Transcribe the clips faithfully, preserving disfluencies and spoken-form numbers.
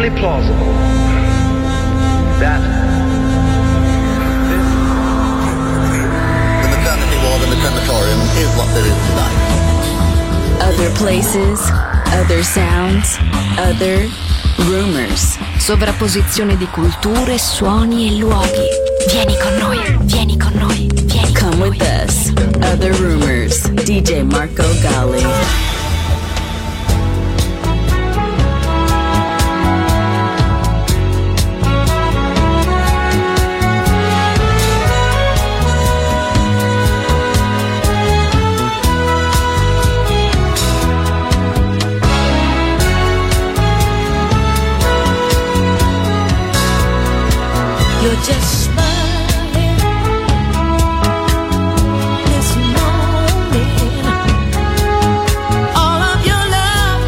extremely plausible that the maternity ward and the crematorium is what there is tonight. Other places, other sounds, other rumors. Sovrapposizione di culture, suoni e luoghi. Vieni con noi, vieni con noi, vieni con noi. Come with us. Other Rumors. D J Marco Gally. You're just smiling this morning. All of your love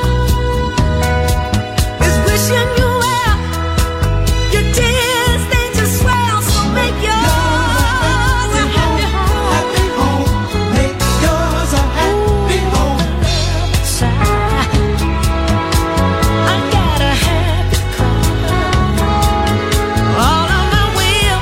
is wishing you well. Your tears, they just swell. So make yours a happy home. Happy home. Make yours a happy home. I got a happy car. All of my wheels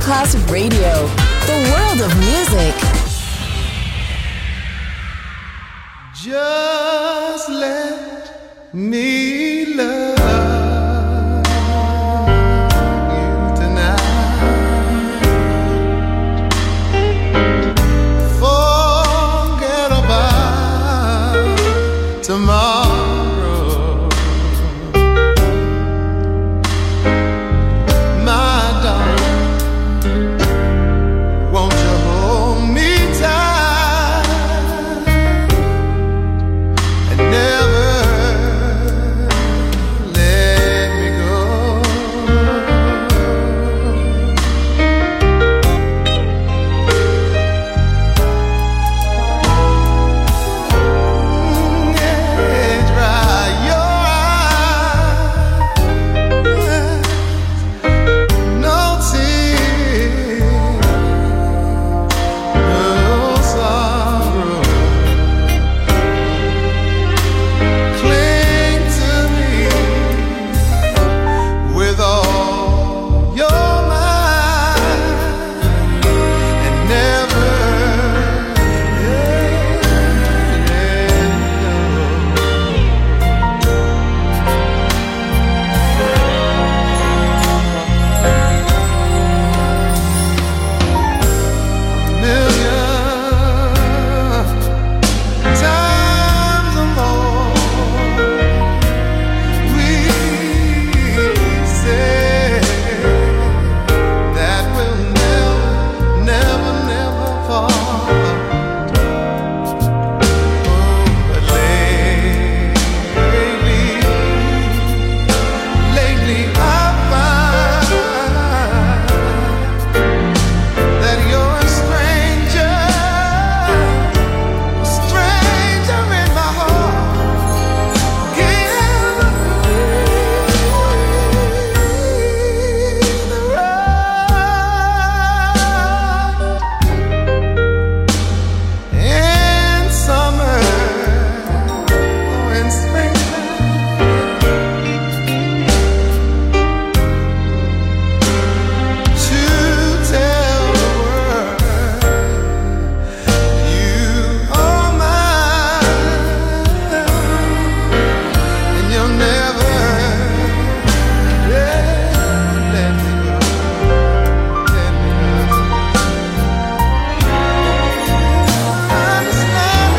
Classic Radio, the world of music. Just let me love you tonight. Forget about tomorrow, my darling. Won't you hold me tight and never let me go? Mm, yeah, dry your eyes, no tears, no sorrow. Cling to me with all your might and never let million times or more we say that we'll never, never, never part. Oh, but lately, lately I find that you're a stranger, a stranger in my heart. Give me the right in summer or in springtime to tell the world you are mine, and you'll never let let me go, let me go. Understand?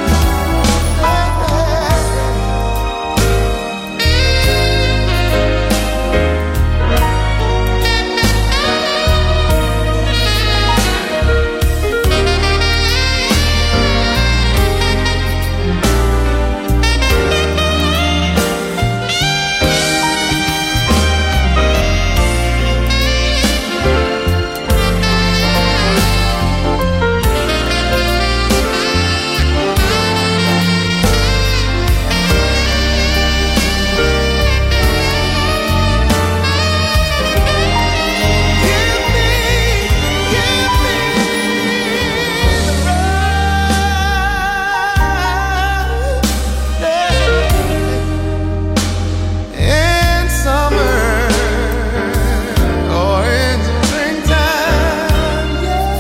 Give me, give me the right in summer or in springtime,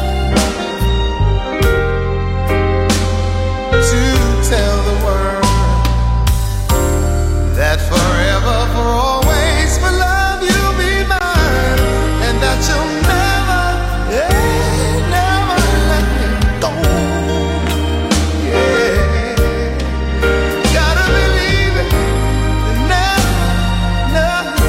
to tell the world that forever, for always, for love you'll be mine, and that you'll never, yeah, never let me go. Yeah, gotta believe it, never, never,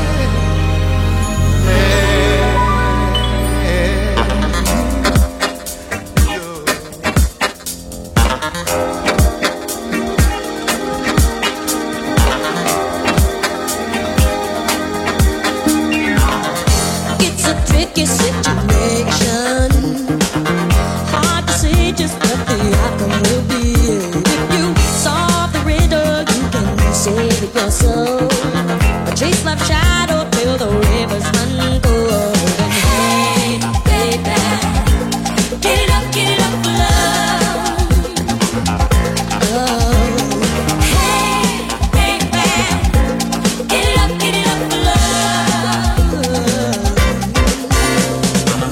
It's a tricky situation. Hard to say just what the outcome will be. If you solve the riddle, you can save it yourself. But chase life's shadow till the rivers run cold. And hey, baby, get it up, get it up for love. Oh, hey, baby, get it up, get it up for love.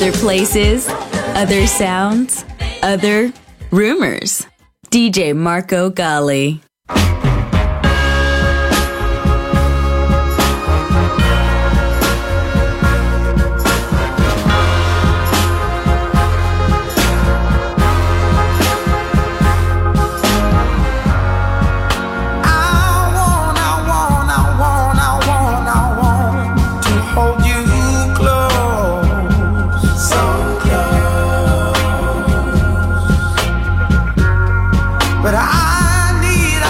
Other places, other sounds, other rumors. D J Marco Gally. But I need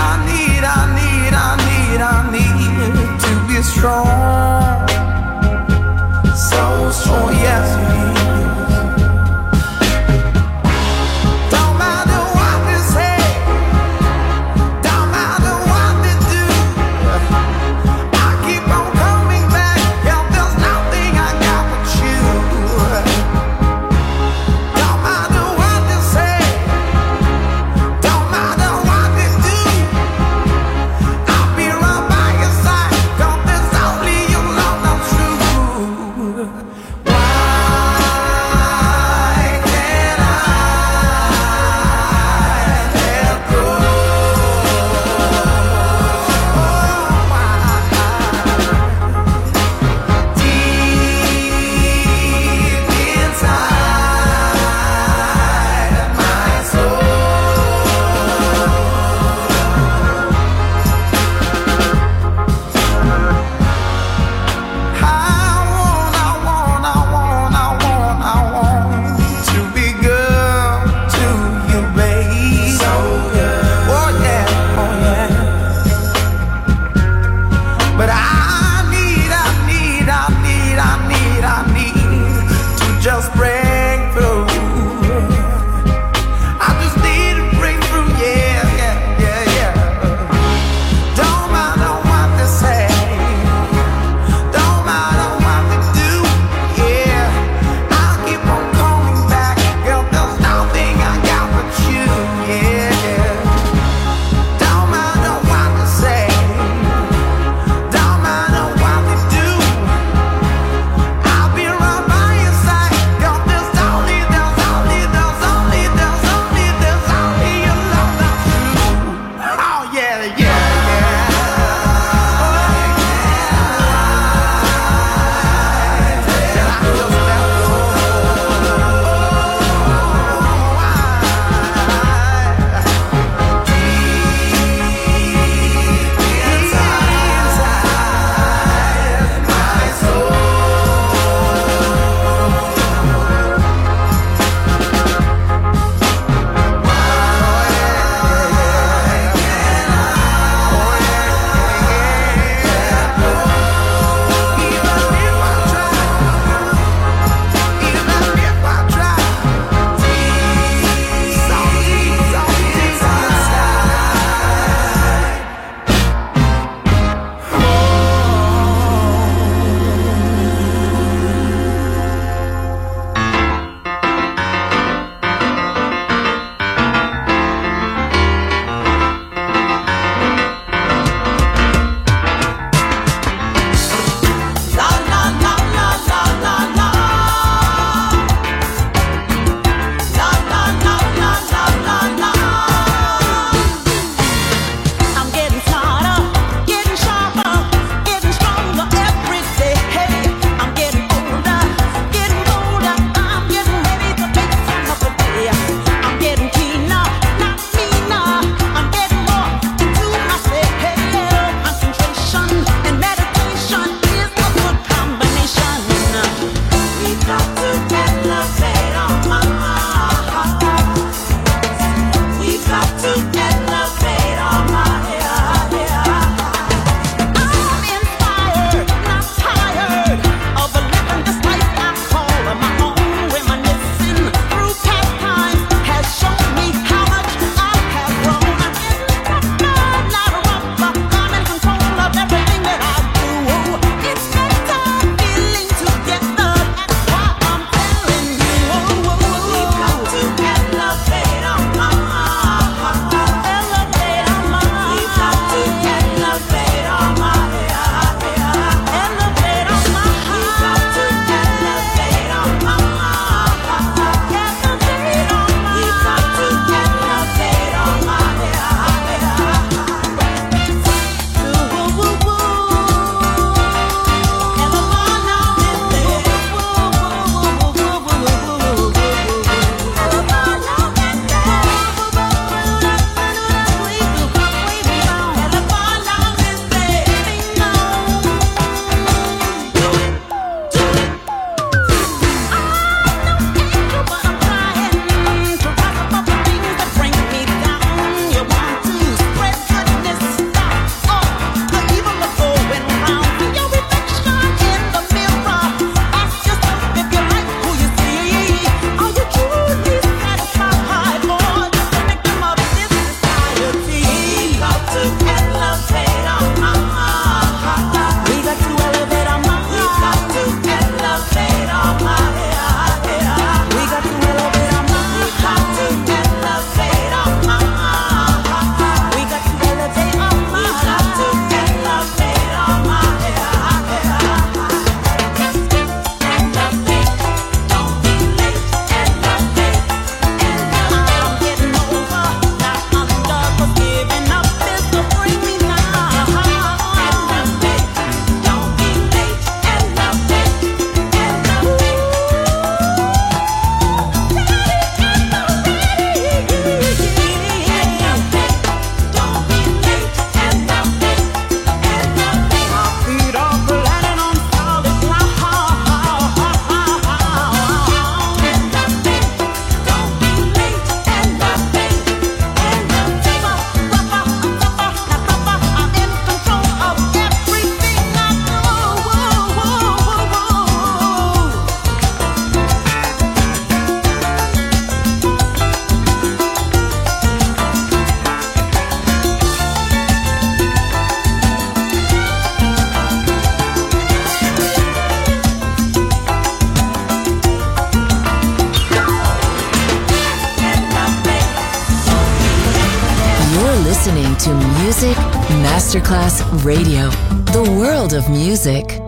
listening to Music Masterclass Radio, the world of music.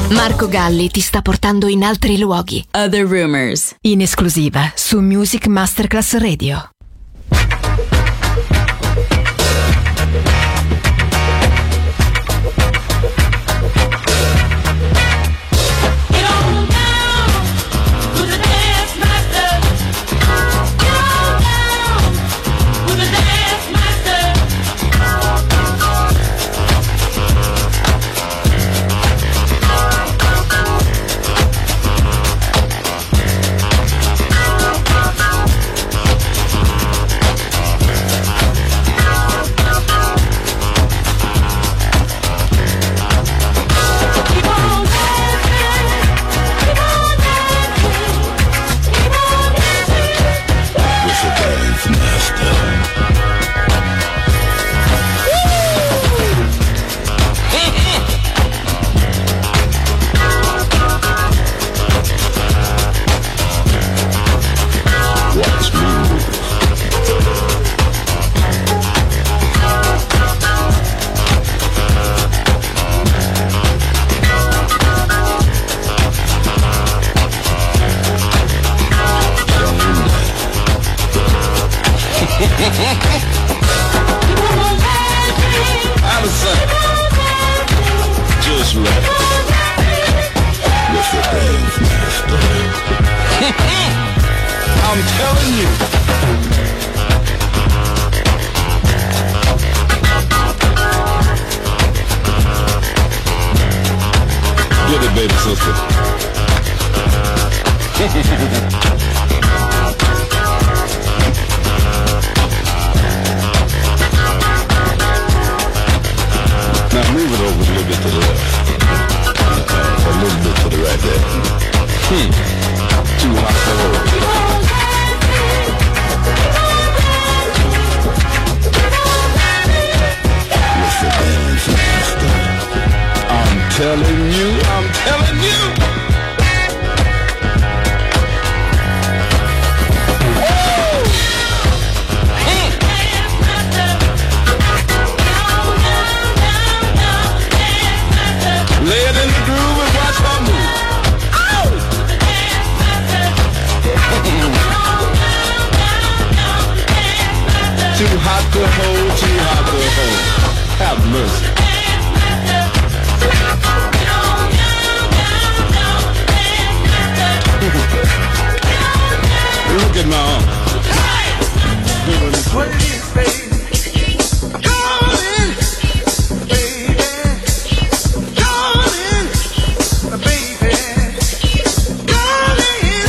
Marco Galli ti sta portando in altri luoghi. Other Rumors, in esclusiva su Music Masterclass Radio. Allison, just right. With the dance master. I'm telling you. Get it, baby sister. Now move it over a little bit to the left. Uh, a little bit to the right there. Hmm. Too hot for her. With the dance master. I'm telling you, I'm telling you. Lay it in the groove and watch her move. Ow! Too hot to hold, too hot to hold. Have mercy. Look at my arm. What it is, baby. Darling, baby. Darling, baby. Darling,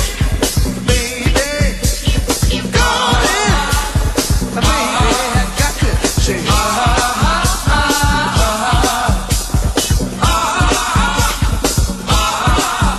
baby. Darling, baby. Got to say, ah, ah, ah, ah, ah, ah,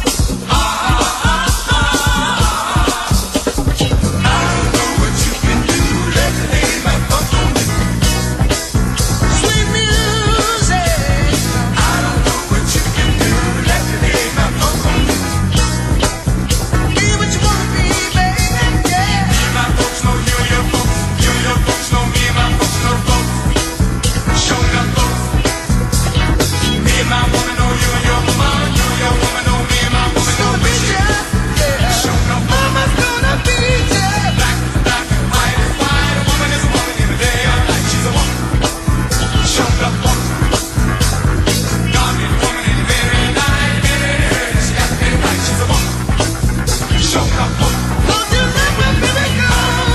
sweet music. I don't know what you can do. Let me lay my funk on you. Be what you wanna be, baby. Yeah. Me and my folks know you and your folks. You and your folks know me and my folks know folks. Show enough folks. Me and my woman know you and your woman. You and your woman know me and my woman know me. Yeah. Show enough mama's gonna be there. Black is black and white is white. A woman is a woman in the day or night. She's a woman. Show enough folks. God made a woman in the very night. Baby, she got to be right. She's a woman. Show enough folks. Don't you let my baby go.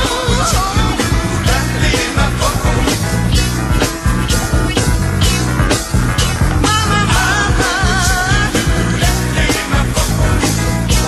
Let me lay my funk on you. Mama, mama. Let me lay my funk on you.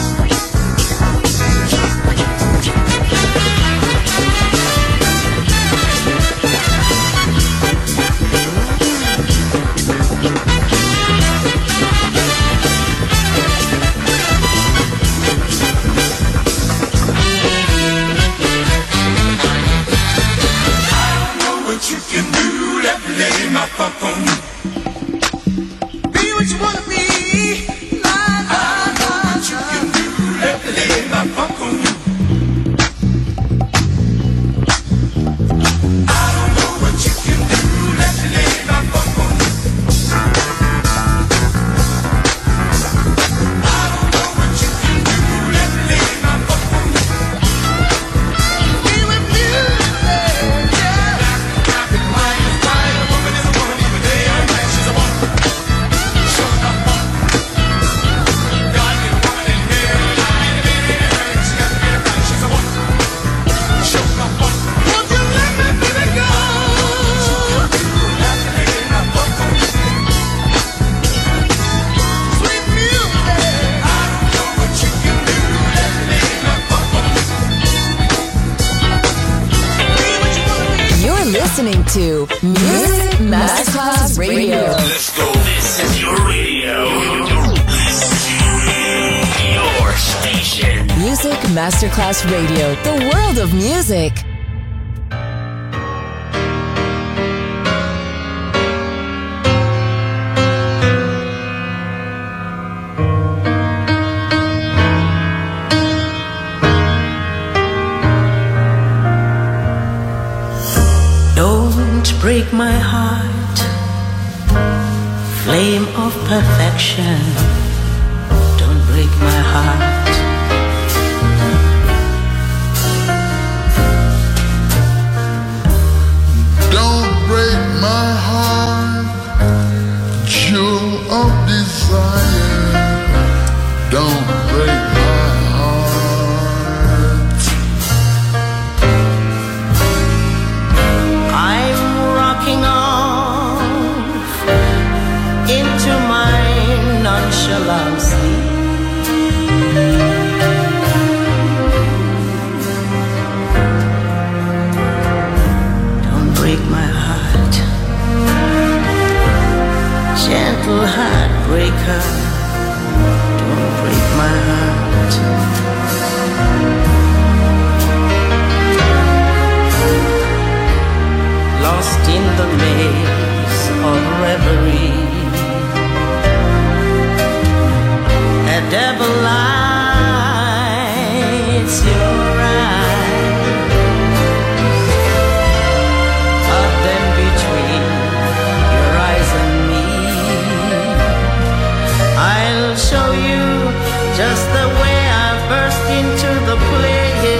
Know what you can do, let me lay my funk on you. Be what you wanna be. La, la, la, what you can do, let me lay my funk on you. I don't know what you can do, let me lay my funk on you. listening to Music Masterclass Radio. Let's go. This is your radio. Your station. Music Masterclass Radio. The world of music. Break my heart, flame of perfection. Don't break my heart. Don't break my heart, jewel of desire. Don't break my heart. I'm rocking off into my nonchalant sleep. Don't break my heart, gentle heartbreaker. Don't break my heart. Lost in the maze of reverie, a devil lights your eyes, but then between your eyes and me, I'll show you just the way I burst into the play.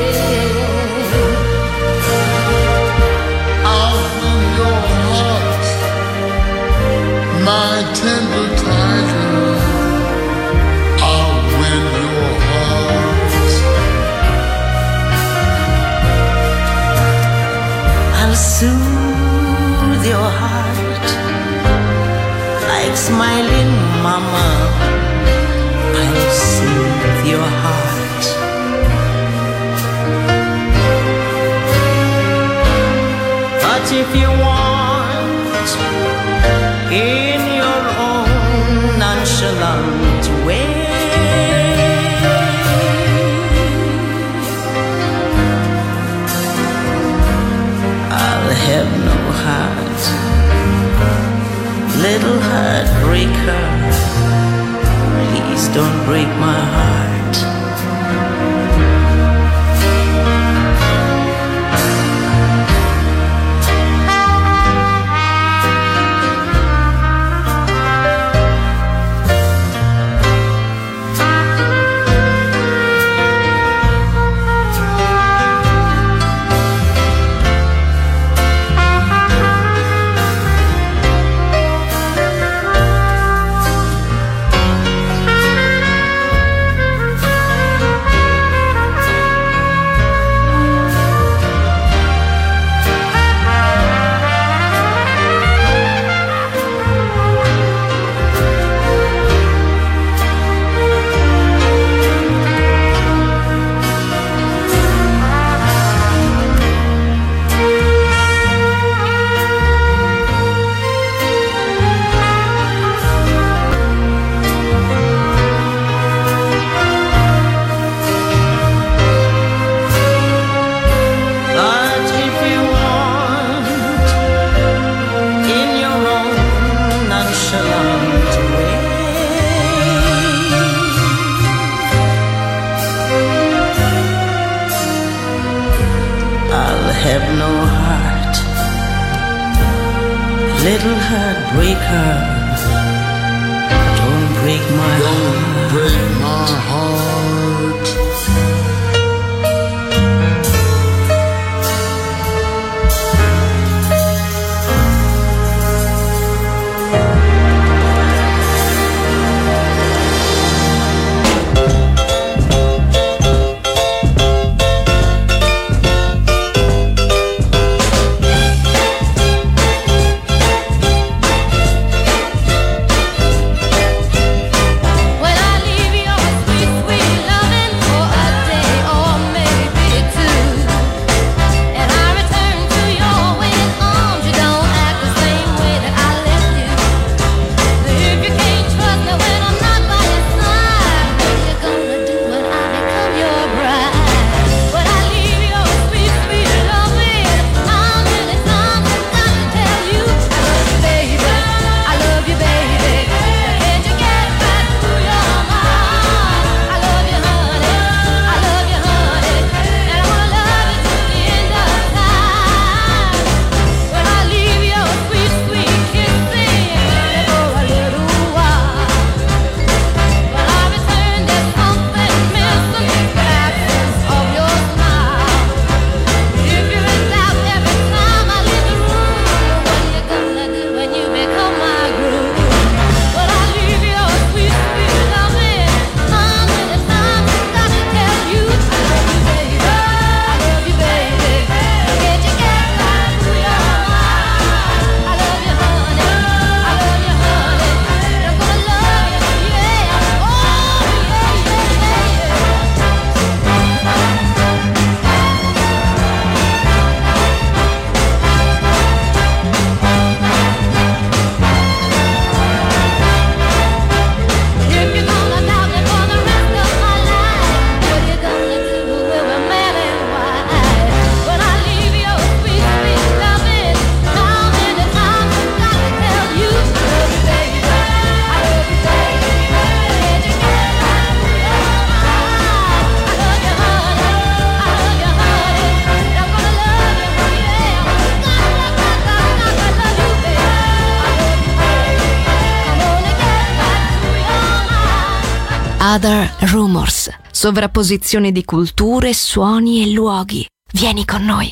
My tender tiger, I'll win your heart. I'll soothe your heart like smiling mama. I'll soothe your heart. But if you want, in your own nonchalant way, I'll have no heart, little heartbreaker. Please don't break my heart. Have no heart, little heartbreaker. Don't break my Don't heart. break my heart. When I leave your sweet, sweet Other Rumors, sovrapposizione di culture, suoni e luoghi. Vieni con noi.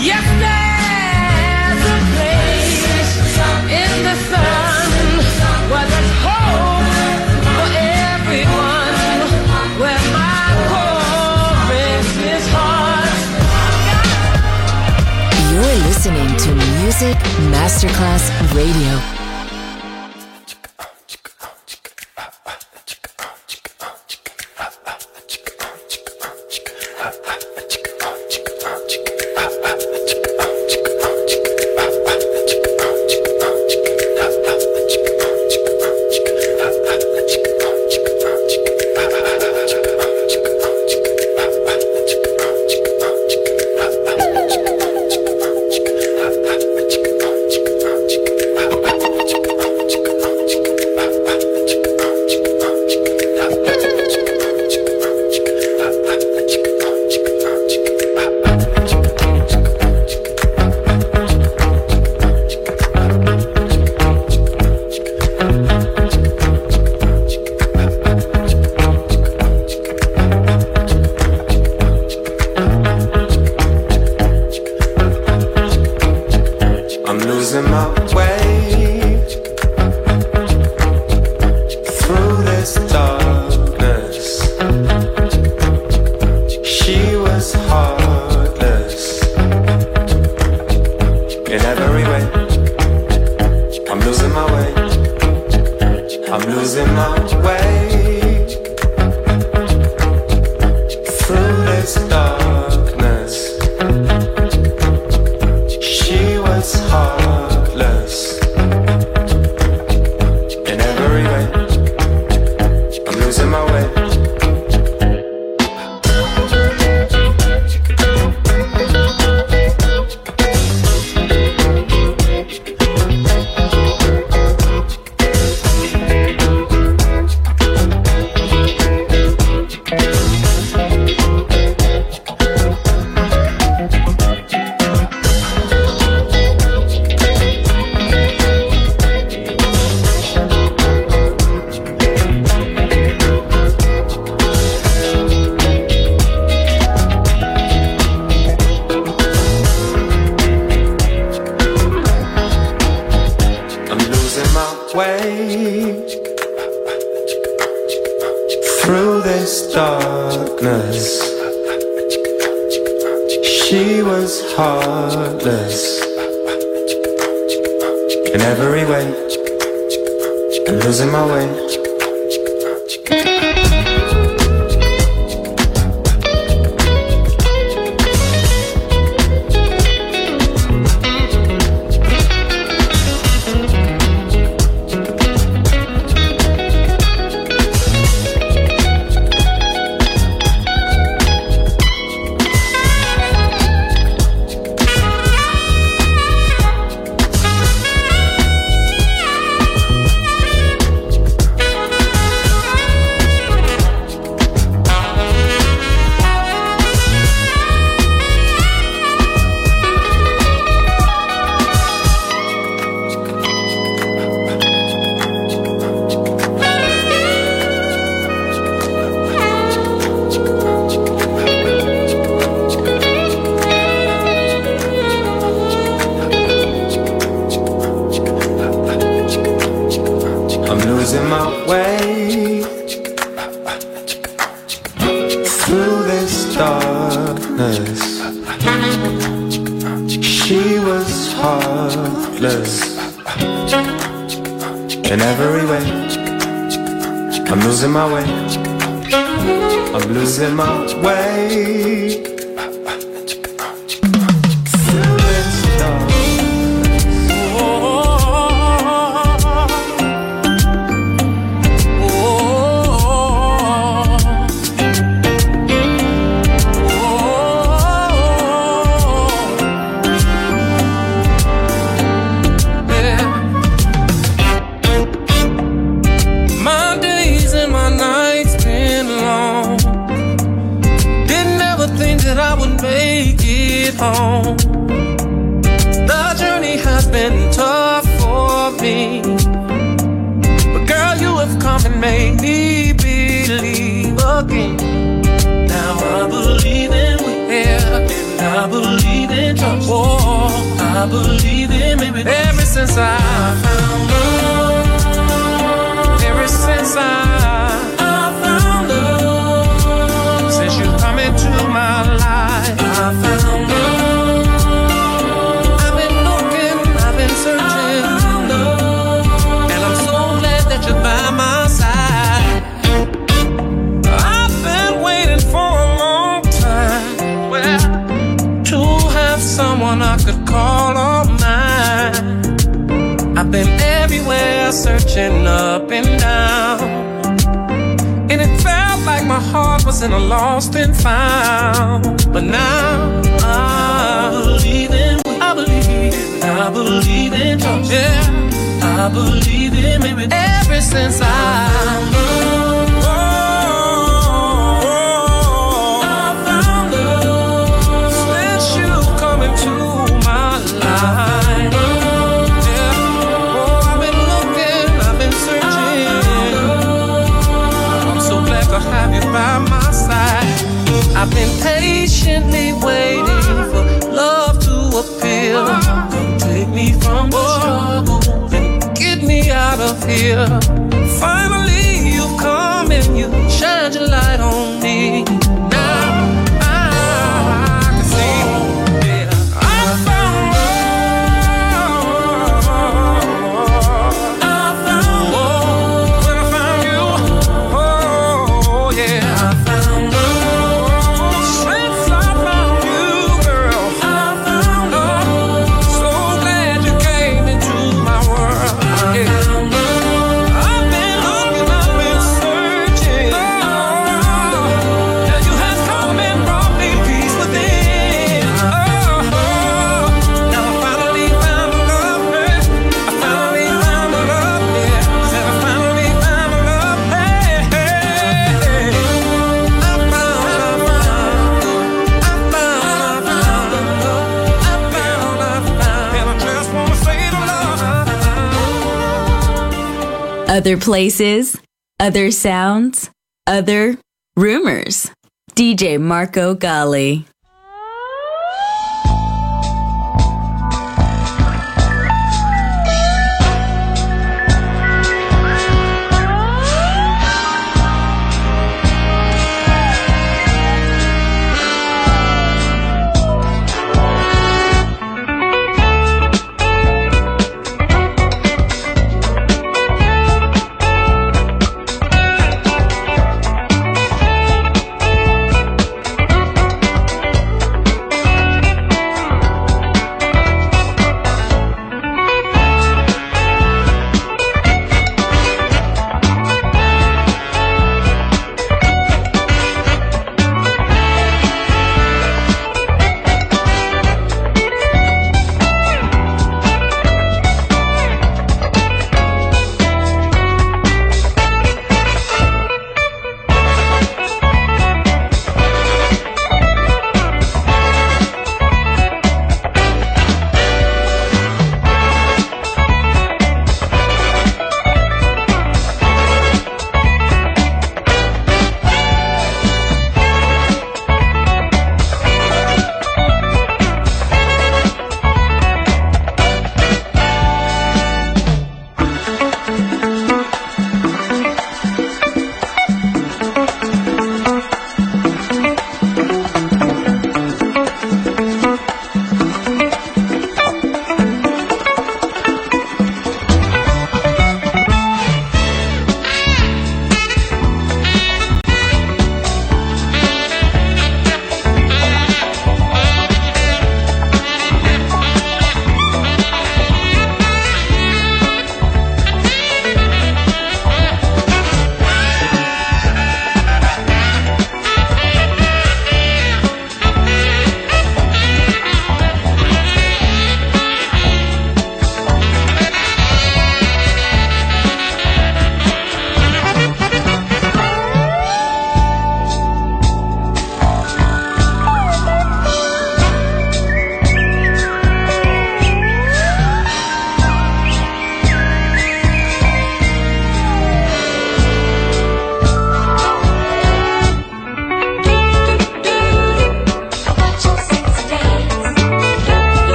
Yes, there's a place in the sun where there's hope for everyone, where my chorus is heart. You're listening to Music Masterclass Radio. I believe in in trust. Oh, I believe in maybe ever since I found love. Ever since I, I found love. Since you come into my life, I found love. I've been looking, I've been searching, I found love. And I'm so glad that you're by my side. I've been waiting for a long time, well, to have someone I could call on mine. I've been everywhere, searching up and down, and it felt like my heart was in a lost and found. But now I believe in, I believe in, I believe in trust. Yeah, I believe in maybe ever since I found love. Oh, I found love. Since you come into my life. Have you by my side. I've been patiently waiting for love to appear. Come take me from the struggle and get me out of here. Finally you've come and you shine your light on me. Now I, I can see, yeah, I found love. I found love. When I found you, oh yeah, I found love. Since I found you, girl, I found love. So glad you came into my world. I found love. I've been looking, I've been searching. Oh, now you have come and brought me peace within. Oh, now I finally found love, yeah. I finally found love, yeah. Said I finally found love, hey, hey, hey. I found, I found, I found, I found love. I found, I found, and I just wanna say the love. Other places, other sounds, other rumors. D J Marco Gally.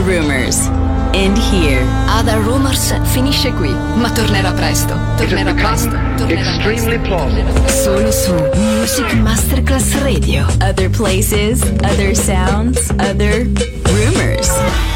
Rumors. And here. Other Rumors finisce qui, ma tornerà presto. Tornerà presto. Tornerà extremely plausible. Solo su Music Masterclass Radio. Other places, other sounds, other rumors.